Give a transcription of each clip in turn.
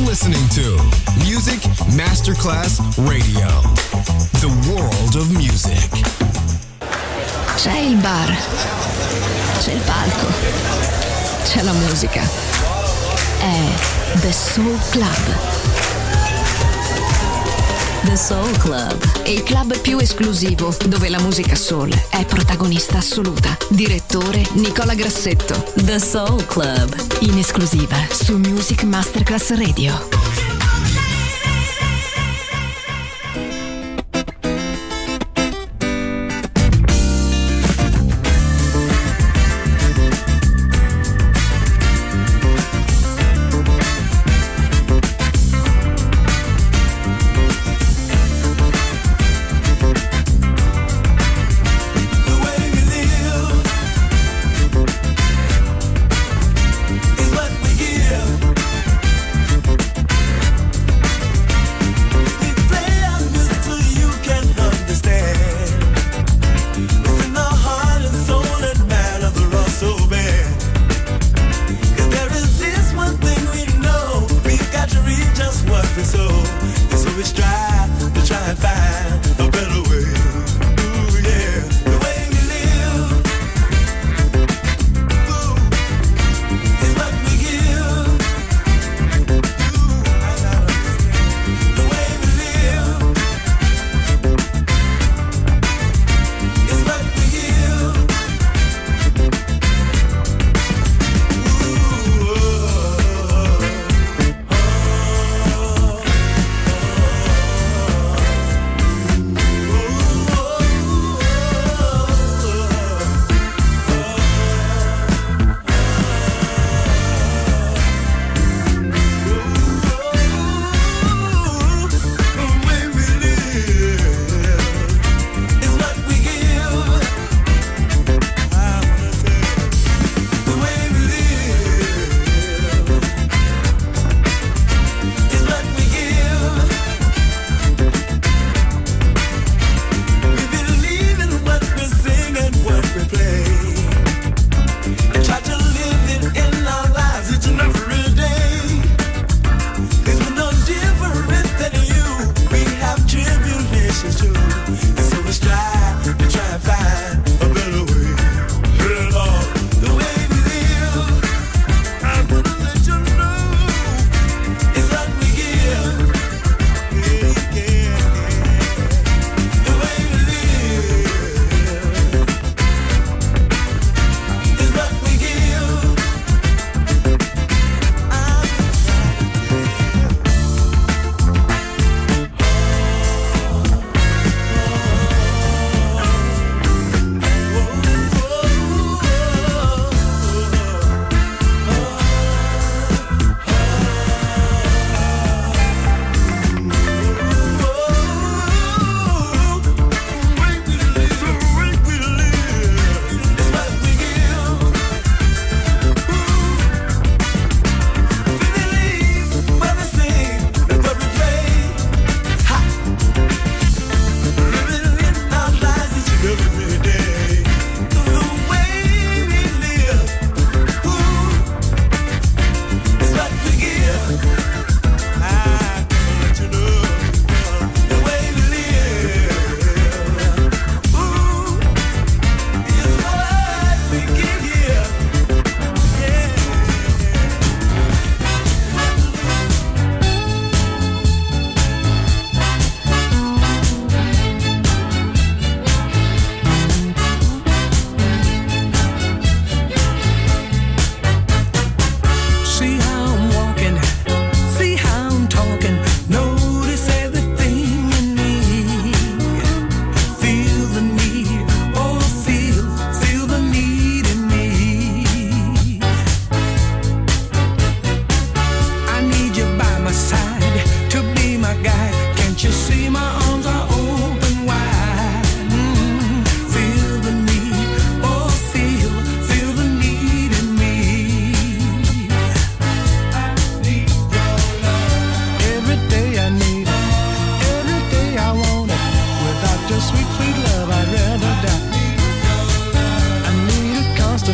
listening to Music Masterclass Radio. The world of music. C'è il bar, c'è il palco, c'è la musica. È The Soul Club. The Soul Club, il club più esclusivo dove la musica soul è protagonista assoluta. Direttore Nicola Grassetto. The Soul Club, in esclusiva su Music Masterclass Radio.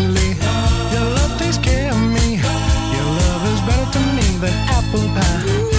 apple pie.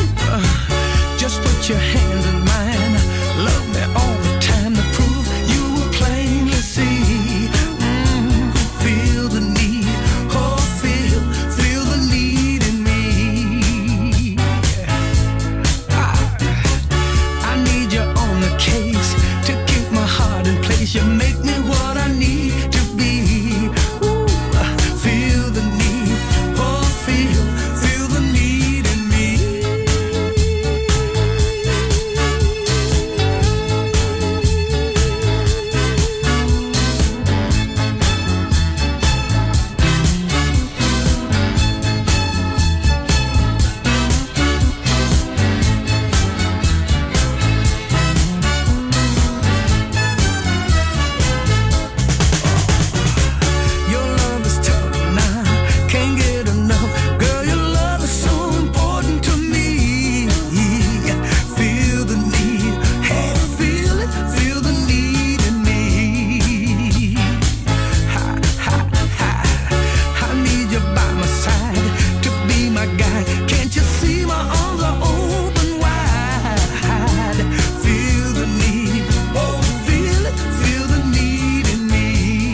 my guide. Can't you see my arms are open wide? Feel the need, oh, feel it, feel the need in me.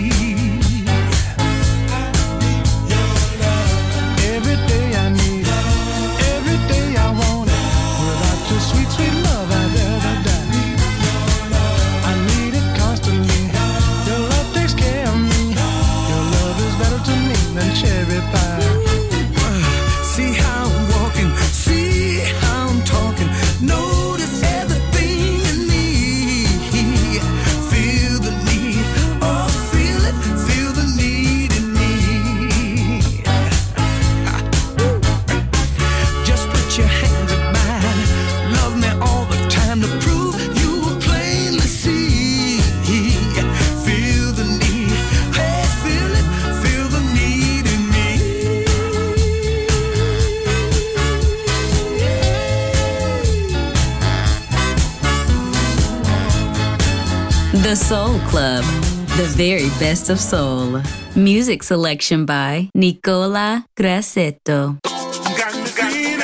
Every day I need it, every day I want it. Without your sweet, sweet love, I'd rather die. I need it constantly. Your love takes care of me. Your love is better to me than cherry pie. See how I'm walking, see how I'm talking. Notice everything in me. Feel the need, oh, feel it, feel the need in me. Just put your hands in mine. Love me all the time to prove you will plainly see. Feel the need, hey, feel it, feel the need in me. The Soul Club, the very best of soul. Music selection by Nicola Grassetto. Got the feeling.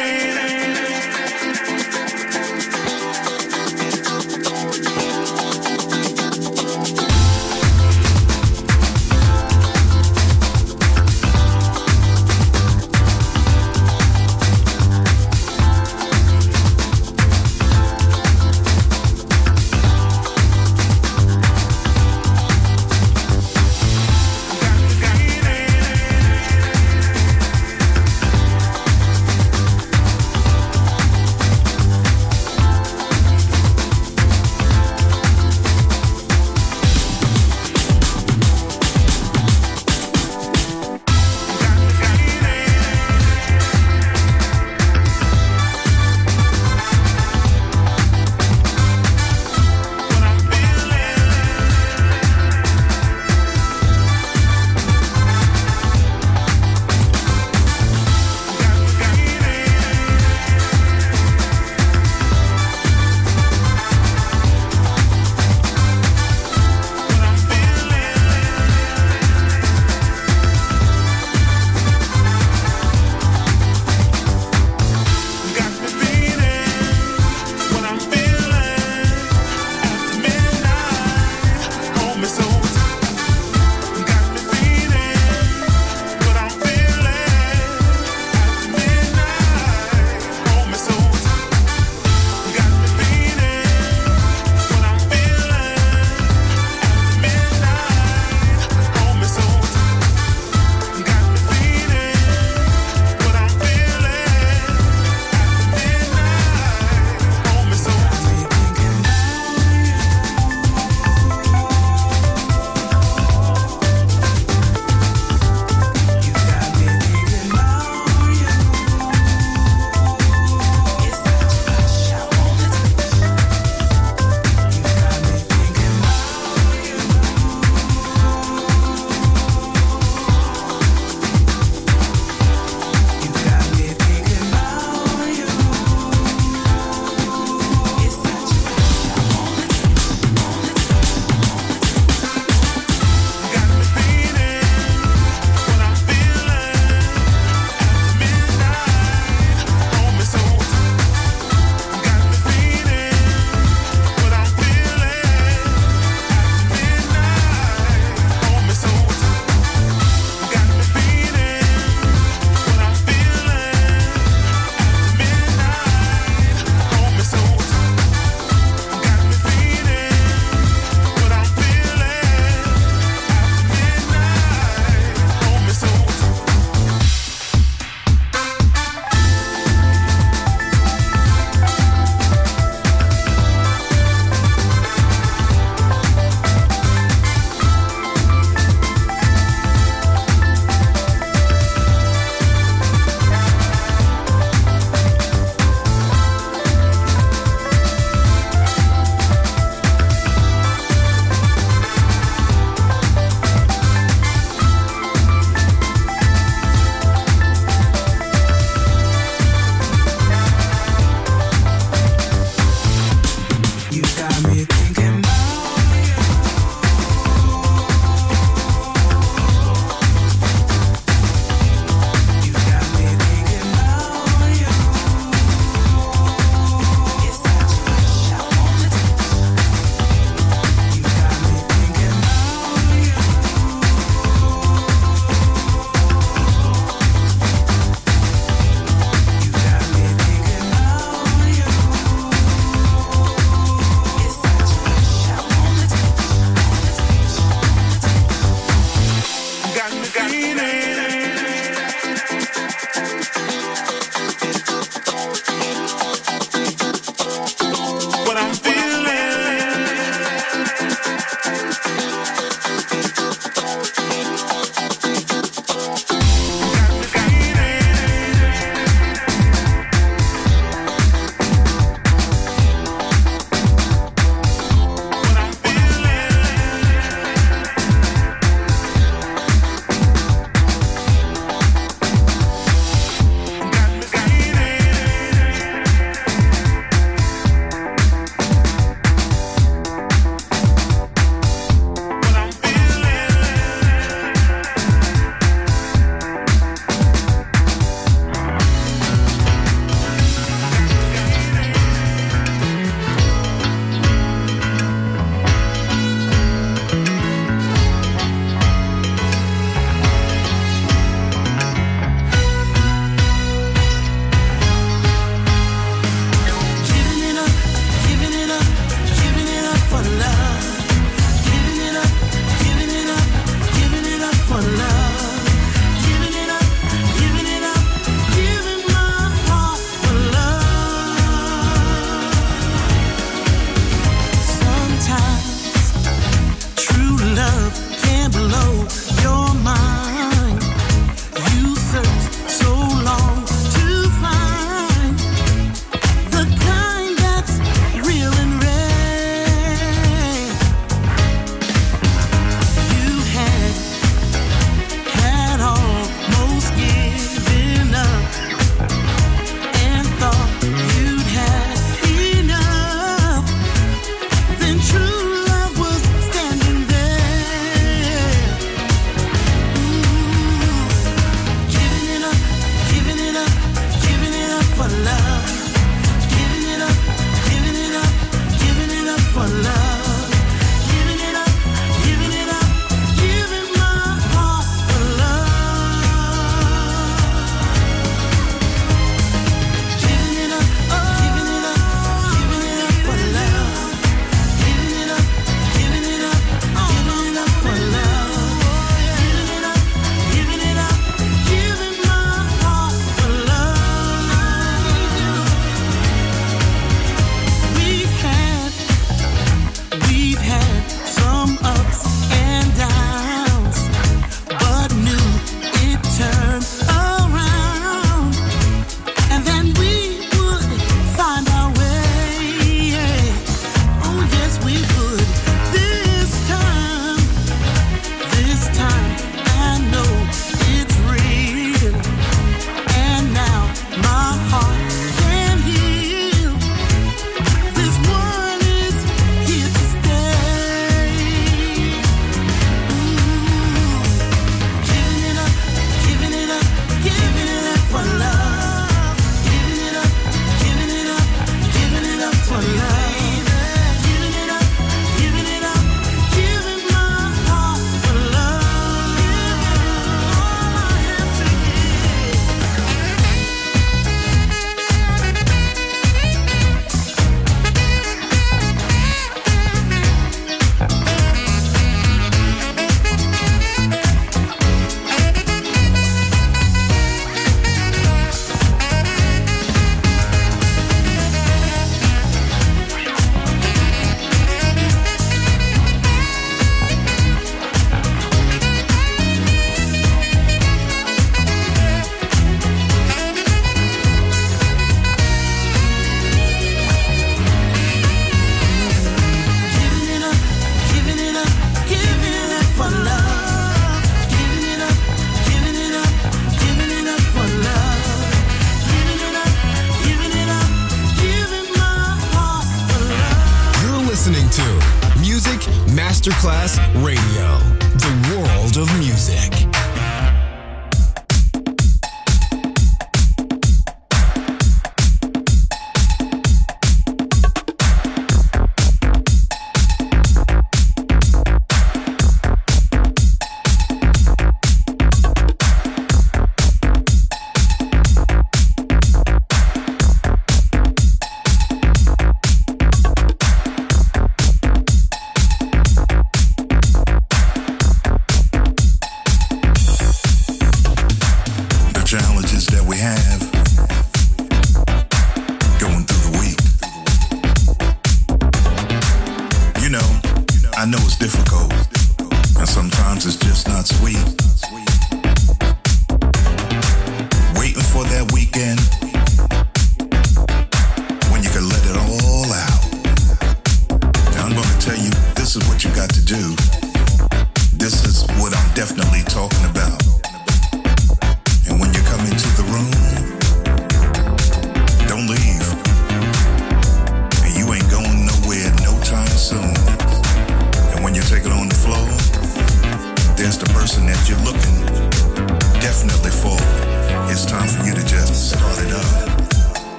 Masterclass Radio, the world of music.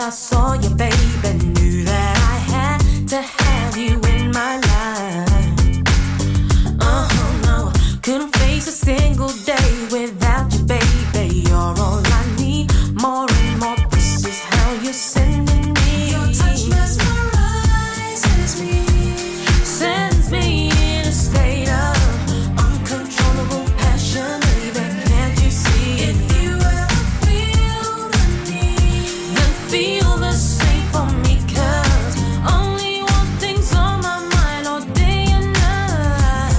I saw you, baby, knew that I had to have you in my life. No, couldn't face a single day without you, baby. You're all I need, more and more. This is how you're sending me. Your touch mesmerizes me, sends me in a state of uncontrollable passion, baby. Can't you see? If you ever feel the need, then feel the same for me, 'cause only one thing's on my mind all day and night.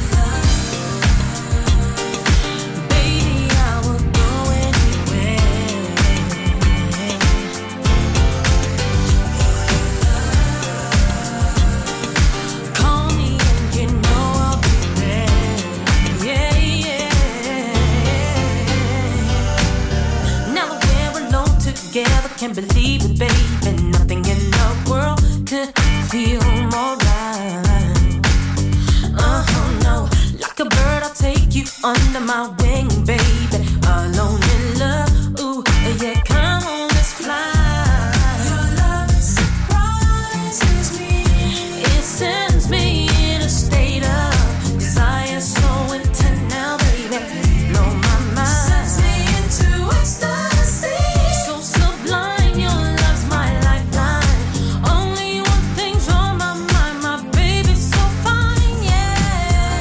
Baby, I will go anywhere. Call me and you know I'll be there. Yeah, yeah. Now that we're alone together, can't believe it, baby. Nothing in the world could feel more right. No, like a bird, I'll take you under my wing, baby. Alone in love, ooh, yeah, come on, let's fly. Your love surprises me. It sends me in a state of desire so intense now, baby. Blow my mind. Sends me into ecstasy. So sublime, your love's my lifeline. Only one thing's on my mind, my baby's so fine, yeah.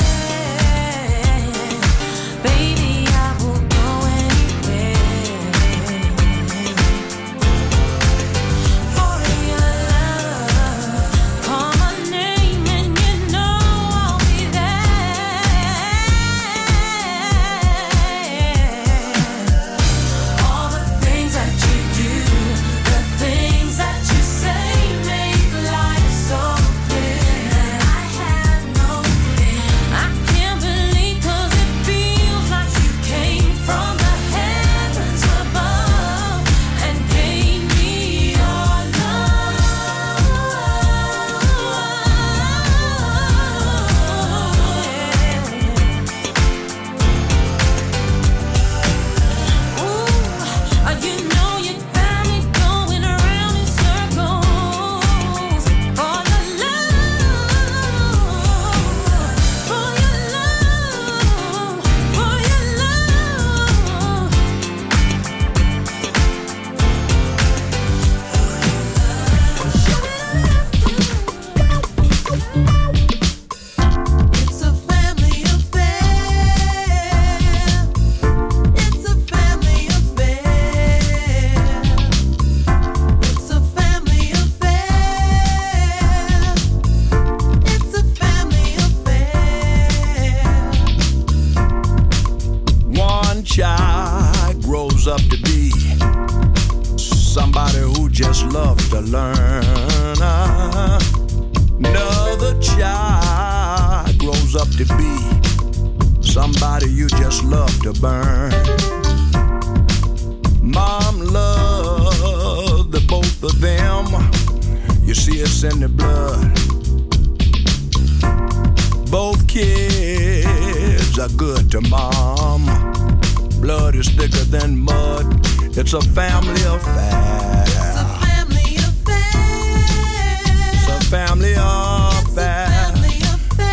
Baby, I will go anywhere for your love. Call my name and you know I'll be there. All the things that you do, the things that you say make life so clear that I have no fear. I can't believe 'cause it feels like you came from the heavens above and gave me your love. Ooh, you know you got me going around in circles for your love, for your love, for your love. It's a family affair. It's a family affair. It's a family affair. It's a family affair. One child grows up to be somebody who just loves to learn. Another child grows up to be somebody you just love to burn. Mom loved the both of them. You see it's in the blood. Both kids are good to mom. Blood is thicker than mud. It's a family affair. It's a family affair. It's a family affair. Family affair.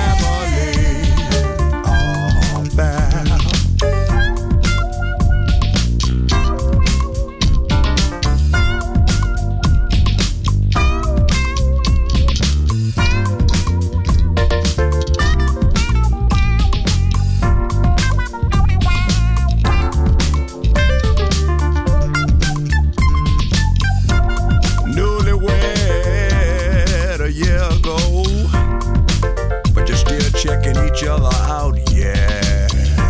Newlywed a year ago, but you're still checking each other out, yeah.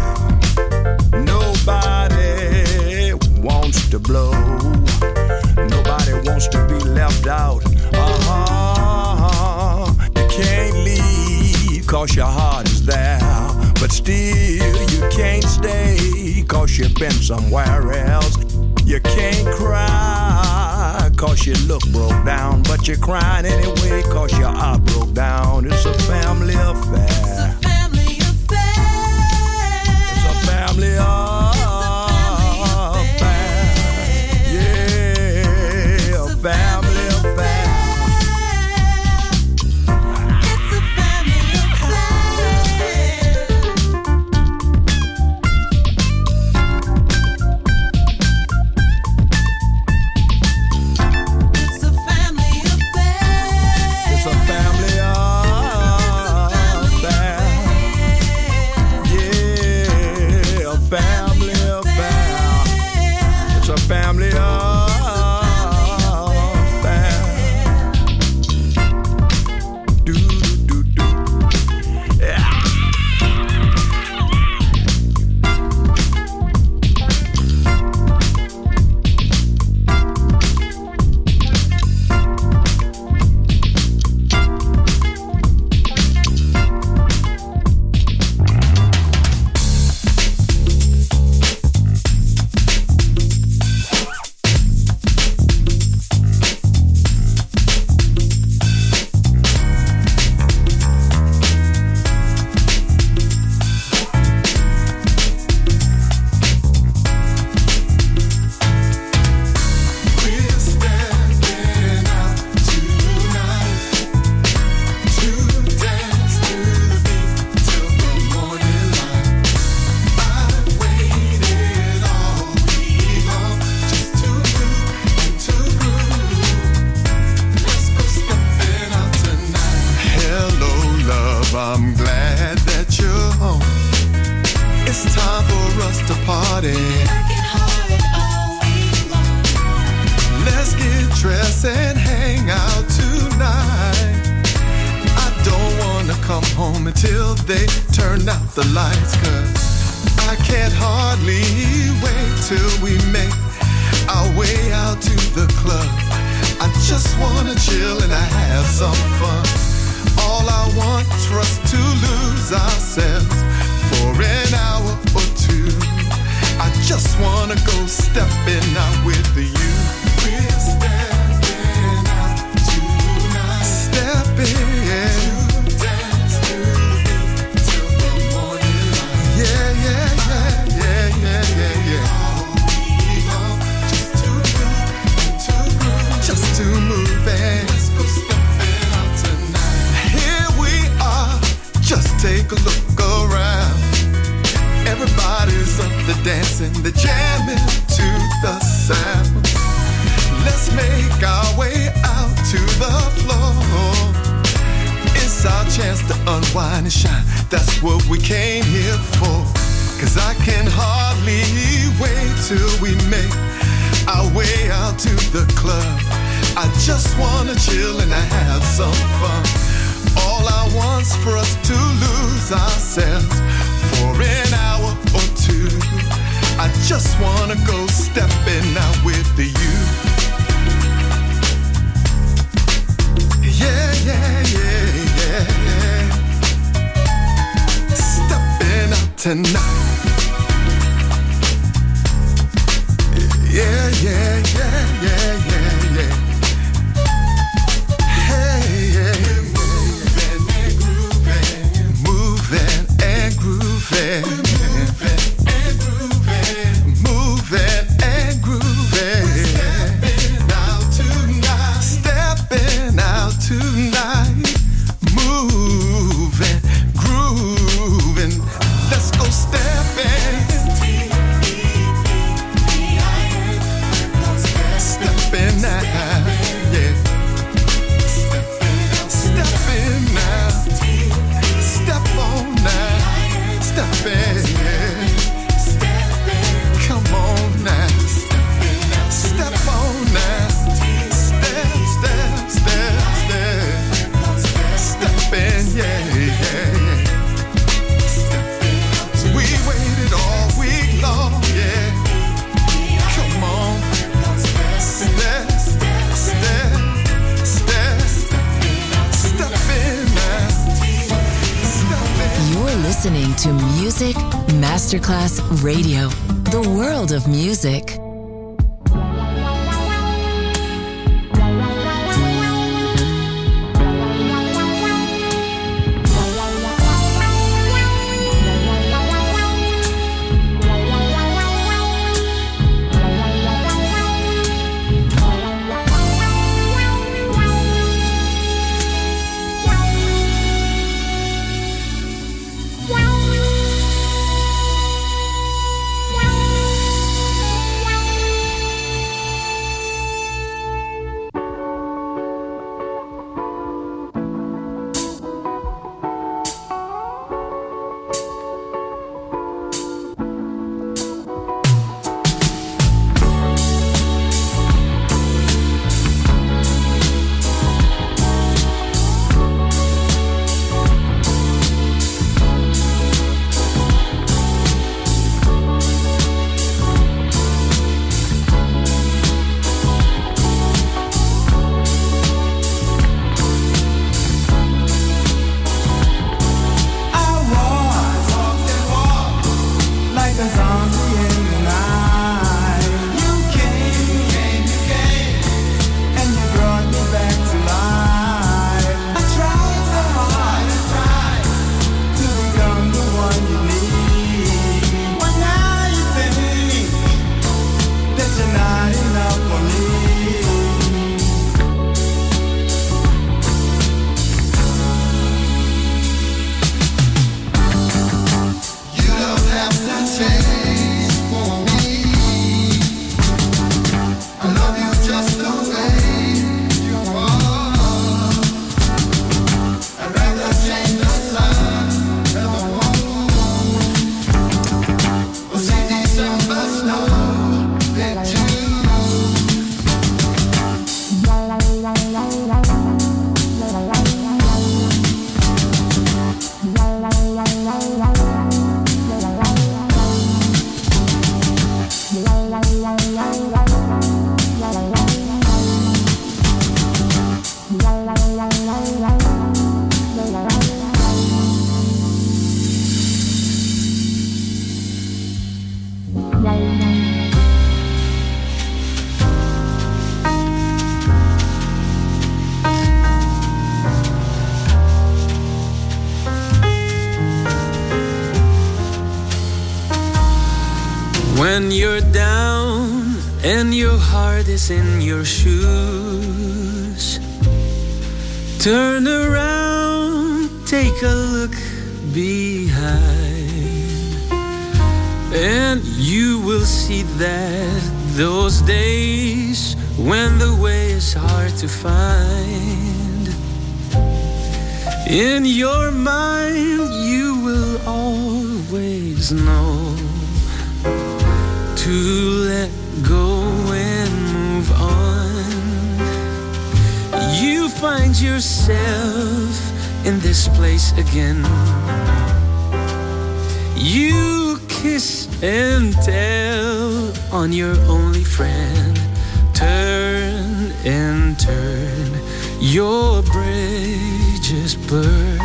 Nobody wants to blow. Nobody wants to be left out. You can't leave 'cause your heart is there, but still you can't stay 'cause you've been somewhere else. You can't cry 'cause you look broke down, but you're crying anyway 'cause your heart broke down. It's a family affair. It's a family affair. It's a family affair. Yeah. they turn out the lights, 'cause I can't hardly wait till we make our way out to the club. I just wanna chill and have some fun. All I want is for us to lose ourselves for an hour or two. I just wanna go stepping out with you. We're stepping out tonight. Stepping, yeah. To dance to the beat till the morning light. Yeah, yeah, yeah, yeah, yeah, yeah, yeah. Just to move and let's go stepping out tonight. Here we are, just take a look around. Everybody's up there dancing, they're jamming to the sound. Let's make our way out to the floor. It's our chance to unwind and shine. That's what we came here for. 'Cause I can hardly wait till we make our way out to the club. I just wanna chill and have some fun. All I want's for us to lose ourselves for an hour or two. I just wanna go stepping out with you. Yeah, yeah, yeah, yeah, yeah. Stepping out tonight. Yeah, yeah, yeah, yeah, yeah, yeah. Hey, yeah, yeah. Moving and grooving. Moving and grooving. Moving and grooving. Stepping out tonight. Stepping out tonight. Moving, grooving. Let's go stepping. Stepping now, yeah. Stepping now. Step on now. Stepping, yeah. Come on now. Step on now. Step, step, step, step. Stepping, yeah, yeah, yeah. We waited all week long, yeah. Come on. Step, step, step, step, stepping now. Stepping. You're listening to Music Masterclass Radio, the world of music. you're down and your heart is in your shoes, turn around, take a look behind, and you will see that those days when the way is hard to find, in your mind you will always know to let go and move on. You find yourself in this place again. You kiss and tell on your only friend. Turn and turn, your bridges burn.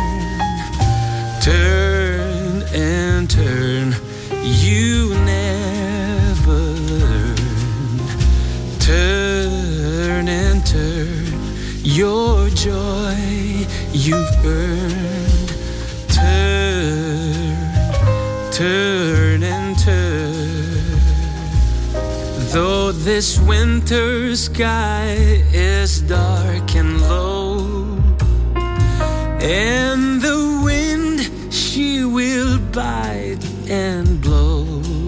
Turn and turn, you never learn. Turn and turn, your joy you've earned. Turn, turn and turn. Though this winter sky is dark and low, and the wind she will bite and blow,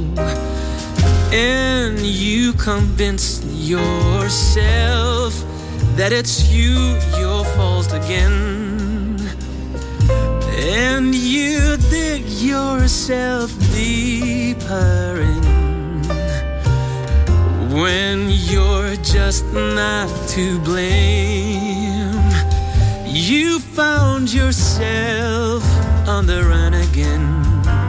and you convince yourself that it's your fault again, and you dig yourself deeper in, when you're just not to blame. You found yourself on the run again.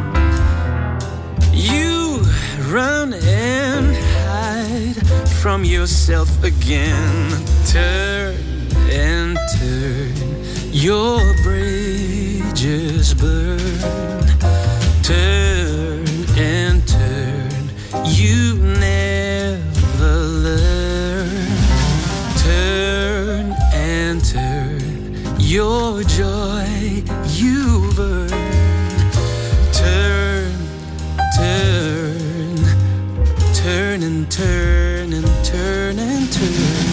You run and hide from yourself again. Turn and turn, your bridges burn. Turn and turn, you never learn. Turn and turn, your joy you've earned. Turn, turn, turn and turn and turn and turn.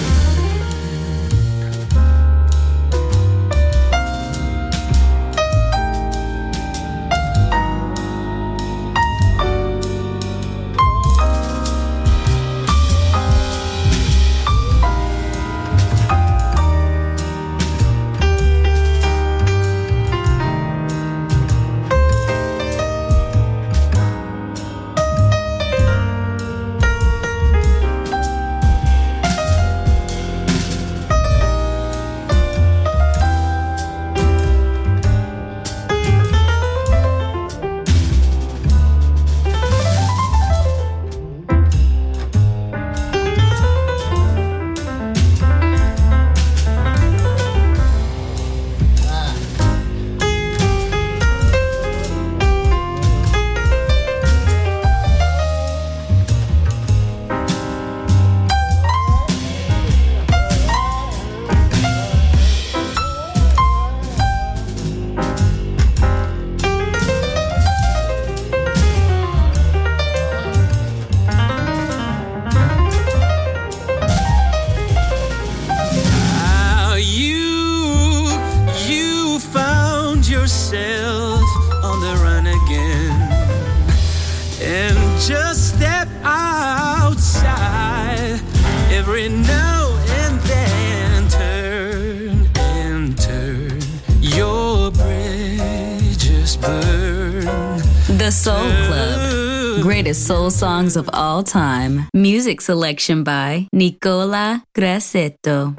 The Soul Club. Greatest soul songs of all time. Music selection by Nicola Grassetto.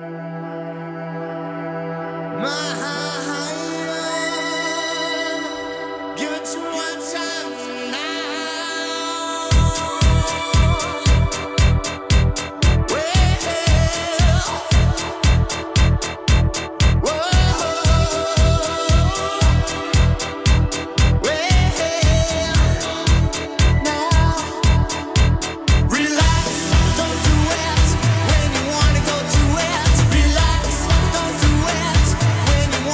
When you wanna go to it, relax, don't do it.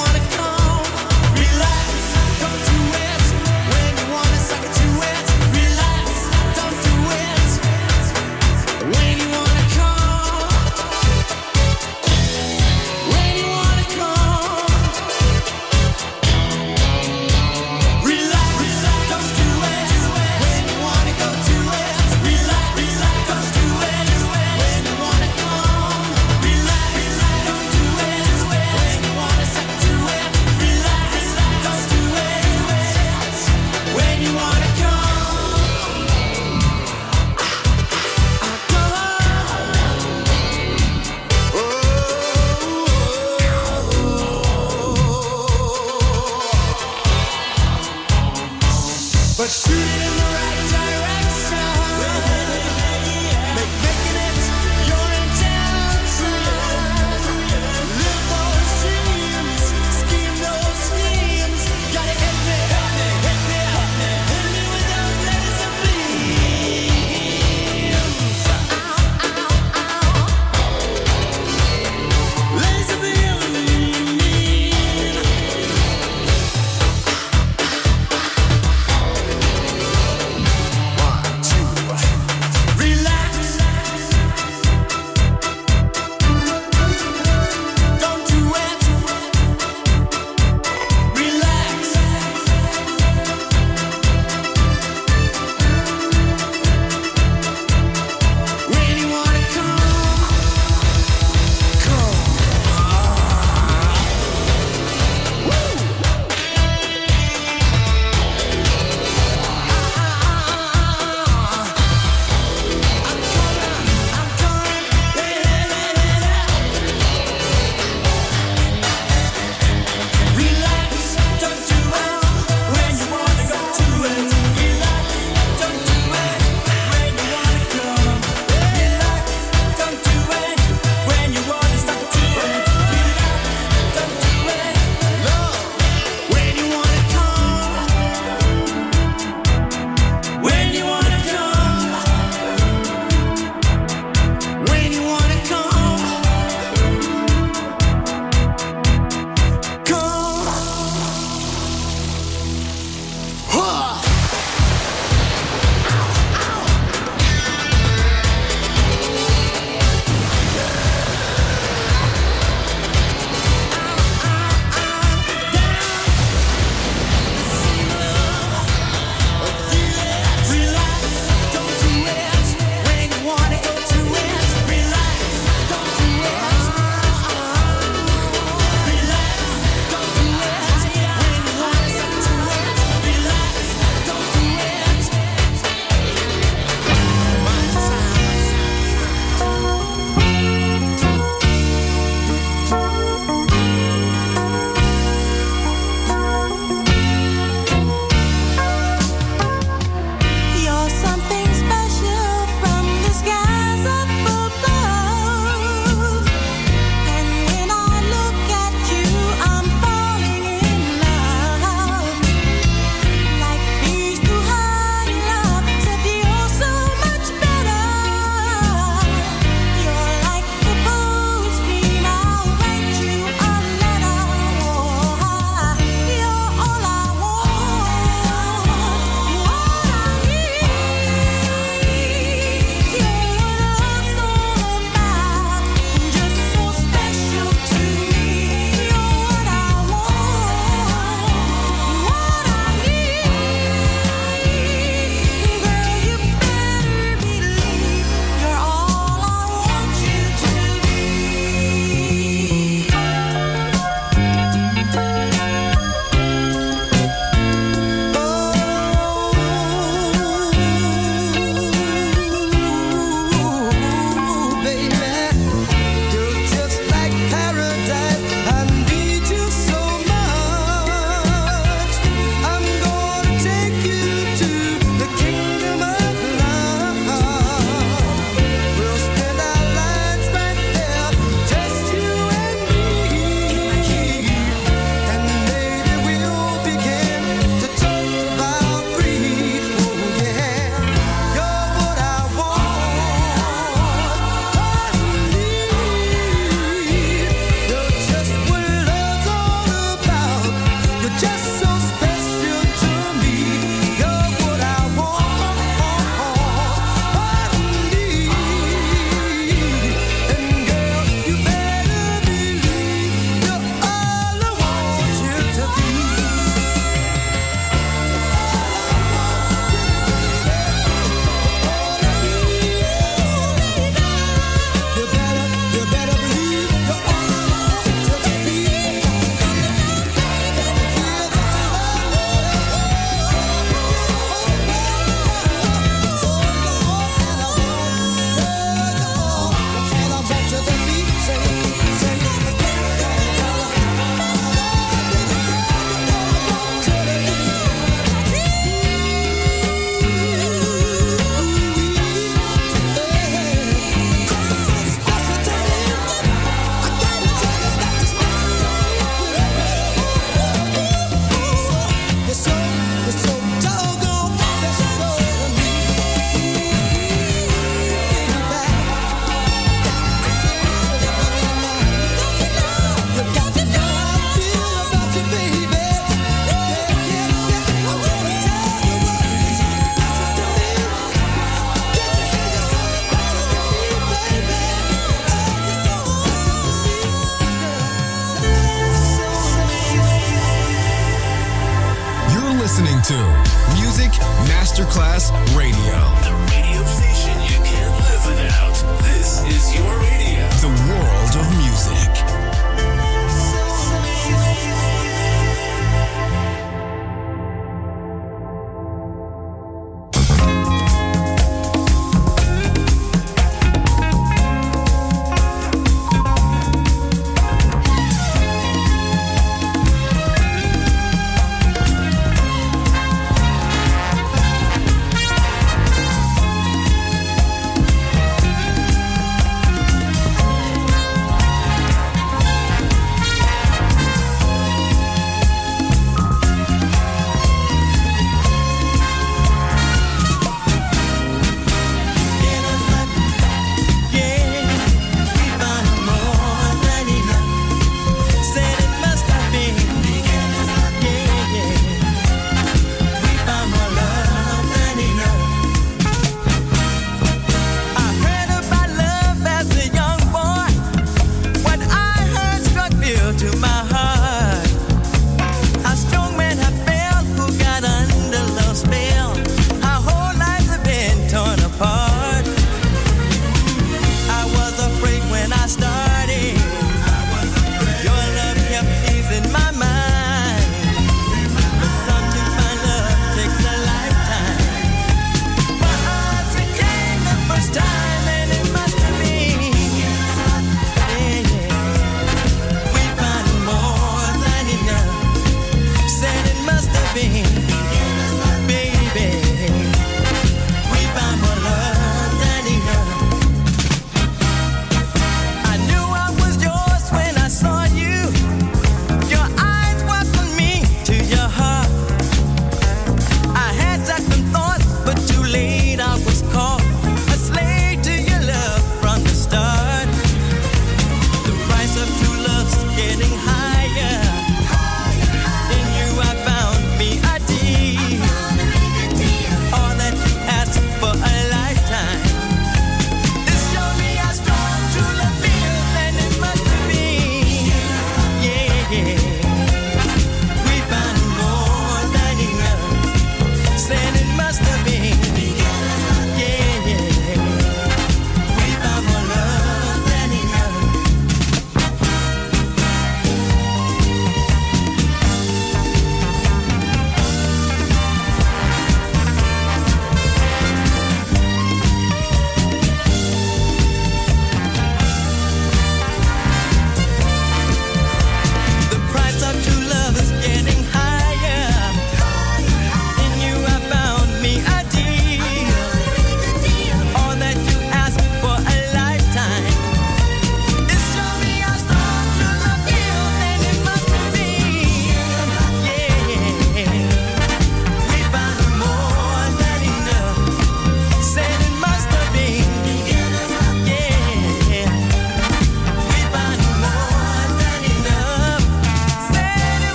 Music Masterclass Radio. The radio station you can't live without. This is your radio. The world of music.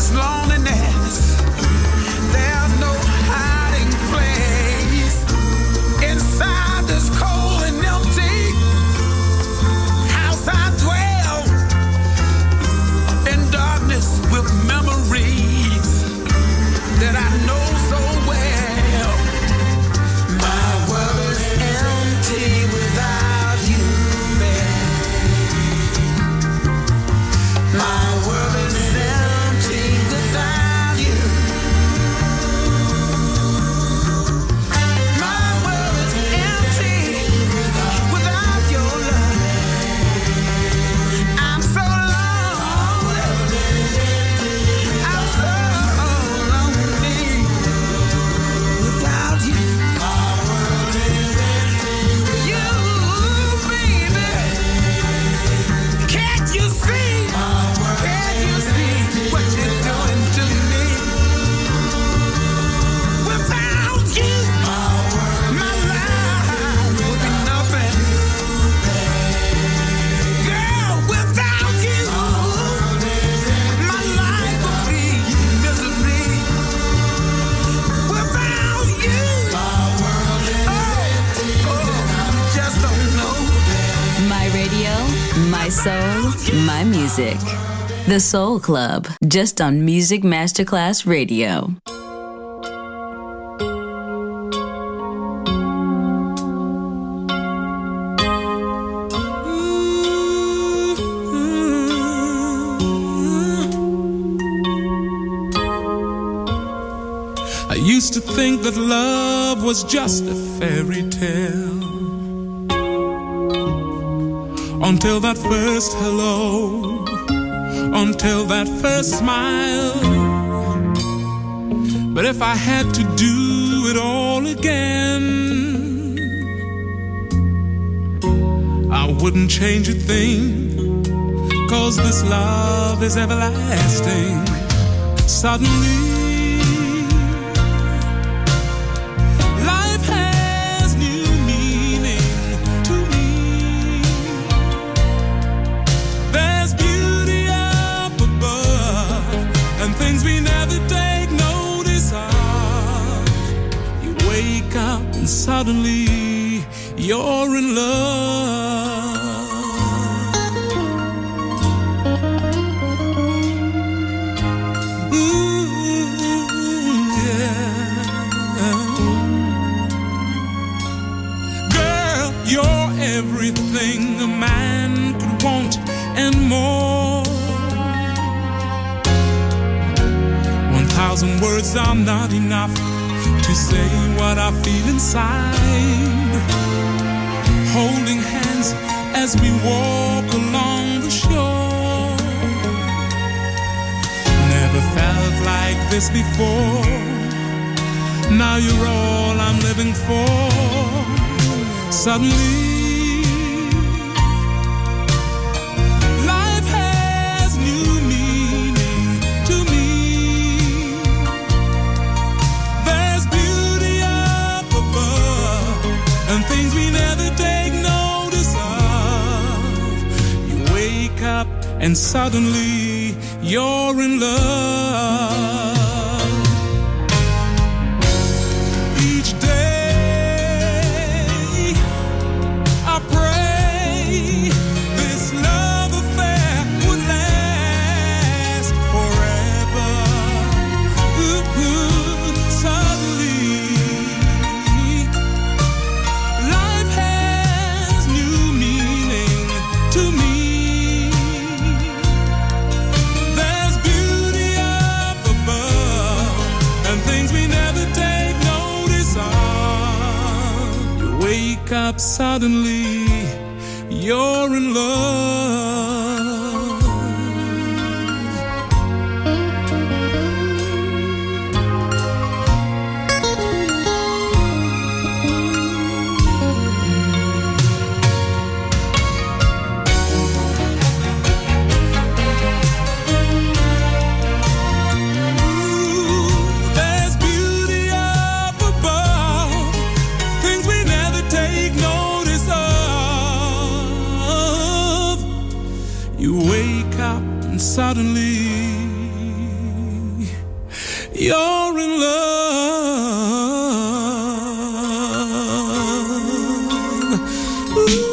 this loneliness. There's no hiding place inside this cold and empty house. I dwell in darkness with memories that I know so well. My world is empty without you, babe. My world is empty without you. My world is empty without your love. I'm so lonely. I'm so lonely without you. My world is empty without you, baby. Can't you see? Can't you see what you're doing to me? Without you, my life would be nothing. Girl, without you, my life would be misery. Without you, just don't know. My radio, my soul, my music. The Soul Club, just on Music Masterclass Radio. I used to think that love was just a fairy tale, until that first hello, until that first smile. But if I had to do it all again, I wouldn't change a thing, 'cause this love is everlasting. Suddenly life has new meaning to me. There's beauty up above and things we never take notice of. You wake up and suddenly you're in love. You're everything a man could want and more. 1,000 words are not enough to say what I feel inside. Holding hands as we walk along the shore. Never felt like this before. Now you're all I'm living for. Suddenly life has new meaning to me. There's beauty up above and things we never take notice of. You wake up and suddenly you're in love. Each day I pray this love affair would last forever. Suddenly, life has new meaning to me. There's beauty up above and things we never take notice of. You wake up suddenly, you're in love. There's beauty up above, things we never take notice of. you're in love. Ooh.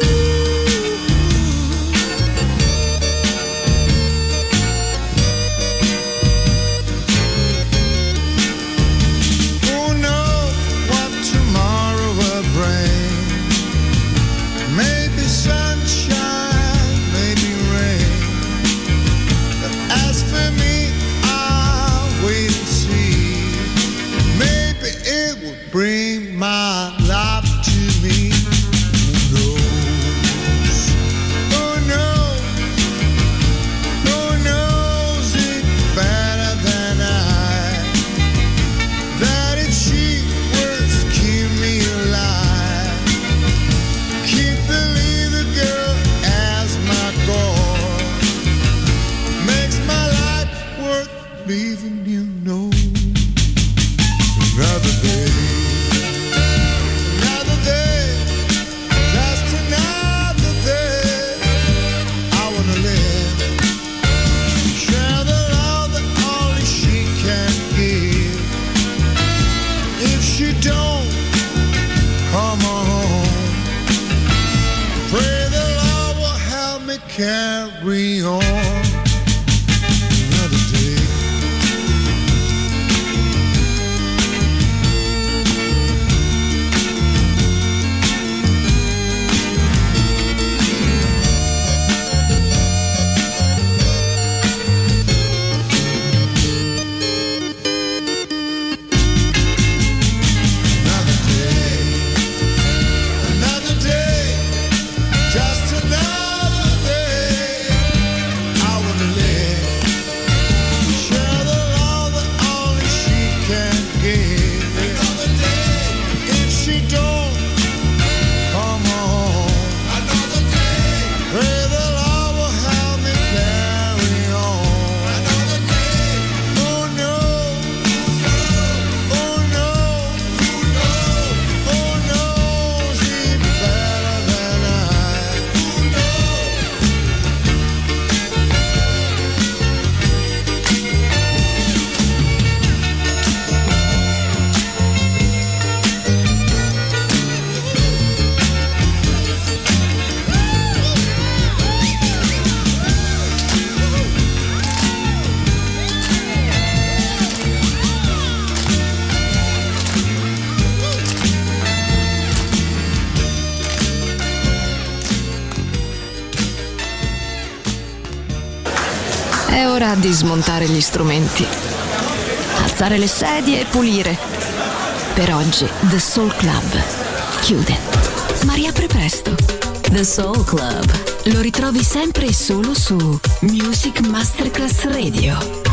Bring my life to me. Who knows? Who knows it better than I? That if she was keep me alive, keep believing, girl, as my goal makes my life worth leaving, you know. Another day. Carry on another day. Another day, just another day. I wanna live, share the love that only she can give. Another day, if she don't come home, another day, pray the Lord will help me carry on. Another day, who knows? Who knows? Who knows it better than I? Who knows? È ora di smontare gli strumenti, alzare le sedie e pulire. Per oggi The Soul Club chiude, ma riapre presto. The Soul Club lo ritrovi sempre e solo su Music Masterclass Radio.